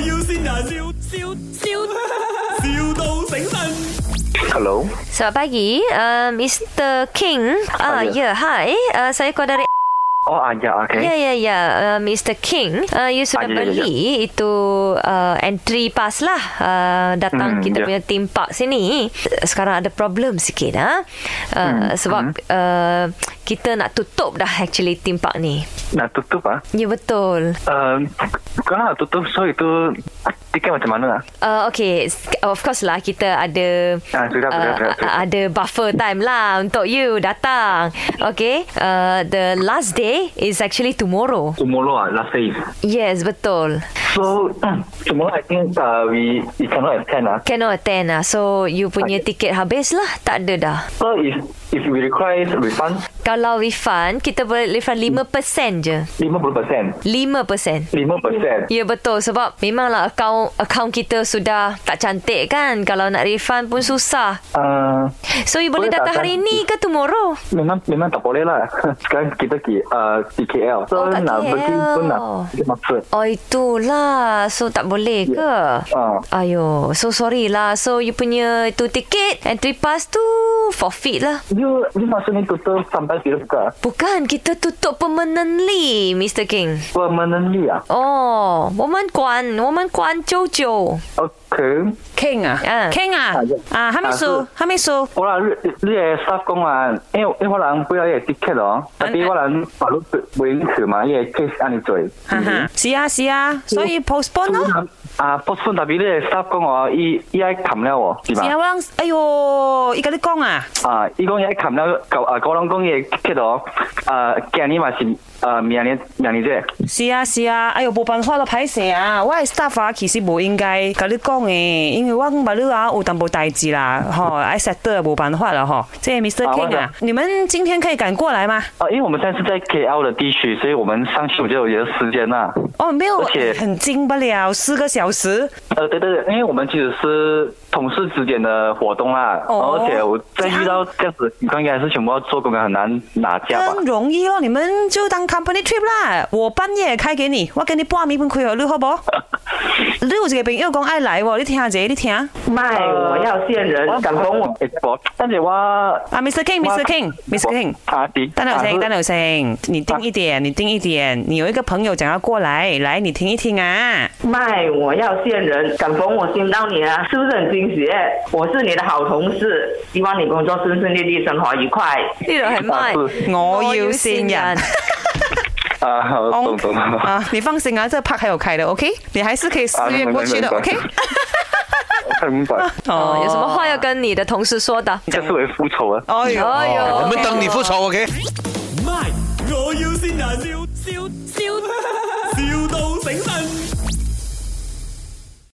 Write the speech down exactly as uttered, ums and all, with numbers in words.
要先人，笑笑笑，,笑到醒神。 Hello. Selamat pagi, uh, mister King. Ah, uh, ya, yeah, hi. Uh, saya call dari. Oh, ah, ya, okay. Ya, ya, ya, uh, mister King. Uh, you sudah Ah, ya, ya, beli ya. itu uh, entry pass lah. Uh, datang Hmm, kita ya. punya theme park sini. Sekarang ada problem sikit, ha? Uh, Hmm, sebab hmm. uh, kita nak tutup dah actually theme park ni. Nak tutup ah? Ya, betul. Uh, kalau nak tutup, so itu tiket macam mana ah? Uh, okay, of course lah kita ada Ah, sudah, sudah, uh, sudah, sudah. ada buffer time lah untuk you datang. Okay, uh, the last day is actually tomorrow. Tomorrow ah, last day. Yes, betul. So tomorrow I think uh, we we cannot attend ah. Cannot attend lah. So you punya Okay. tiket habis lah. Tak ada dah. So if if we require refund, Kalau refund, kita boleh refund lima peratus je. lima puluh peratus. lima peratus. lima peratus. Ya, betul. Sebab memanglah akaun akaun kita sudah tak cantik kan. Kalau nak refund pun susah. Uh, So you boleh Boleh datang tak hari ni ke tomorrow? memang memang tak boleh lah. Sekarang kita di uh, di K L. So Oh, kat nak K L. pergi pun nak kita maksud. Oh, itulah. So tak boleh ke? Ah. Ayo, so sorry lah. So you punya itu tiket entry pass tu forfeit lah. You you maksudnya tutup sampai bila buka? Bukan, kita tutup permanently, mister King. Permanently ah. 哦，我们关，我们关久久。 Okay. King 啊嗯 ，King 啊啊， 啊，還沒數，還沒數。 我啦，你你嘅 staff 講話，因為因為我人不要嘅 ticket 咯，特別我人法律唔允許嘛，因為 case 安尼做。 哈哈，是啊是啊，所以 postpone 咯。 啊 postpone 特別你嘅 staff 講話，伊伊愛冚了喎，是是啊， 嘛？ 我人，哎呦，伊甲你講啊， 啊，伊講伊愛冚了，舊啊，嗰人講伊嘅 ticket 咯，啊，今年嘛是啊明年明年啫。 是啊是啊，哎呦，冇辦法咯，歹勢啊，我嘅 staff 啊，其實冇應該甲你講嘅，因為我把你啊有淡薄代志啦，吼，愛 settle 冇辦法了吼。這 mister 啊 King 我啊，你們今天可以趕過來嗎？ 啊，因為我們現在是在 K L 的地區，所以我們上去我就有一個時間啦。 哦，沒有而且， 很近不了，四個小時。 呃，對對對，因為我們其實是同事之間的活動啦， 哦而且我再遇到這樣子情況，應該是全部要做工嘅，很難拿下吧很。容易咯，你們就當 company trip 啦。我半夜開給你，我給你半暝半開你好不好？你有一個朋友講愛來喎，你聽下者，你聽。 卖我要線人，敢講我我，但是我啊，mister King，mister King，mister King。 啊，弟， 單劉星， 啊單劉星，你聽一點，你聽一點。你有一個朋友講要過來，來，你聽一聽啊。 卖我要線人，敢逢我見到你啊，是不是很驚喜？我是你的好同事，希望你工作順順利利，生活愉快。 呢度係咪？ 我要線人。 啊，好懂懂懂。 啊，你放心啊，這個 park 還有開的 ，OK？你還是可以四月過去的啊明白 ，OK？ 我明白， 哦，有什麼話要跟你的同事說的？ 這是為復仇啊！ 哎呦， 哎呦我們等你復仇，OK？ 咪，我要先人，笑笑笑，,笑到醒神。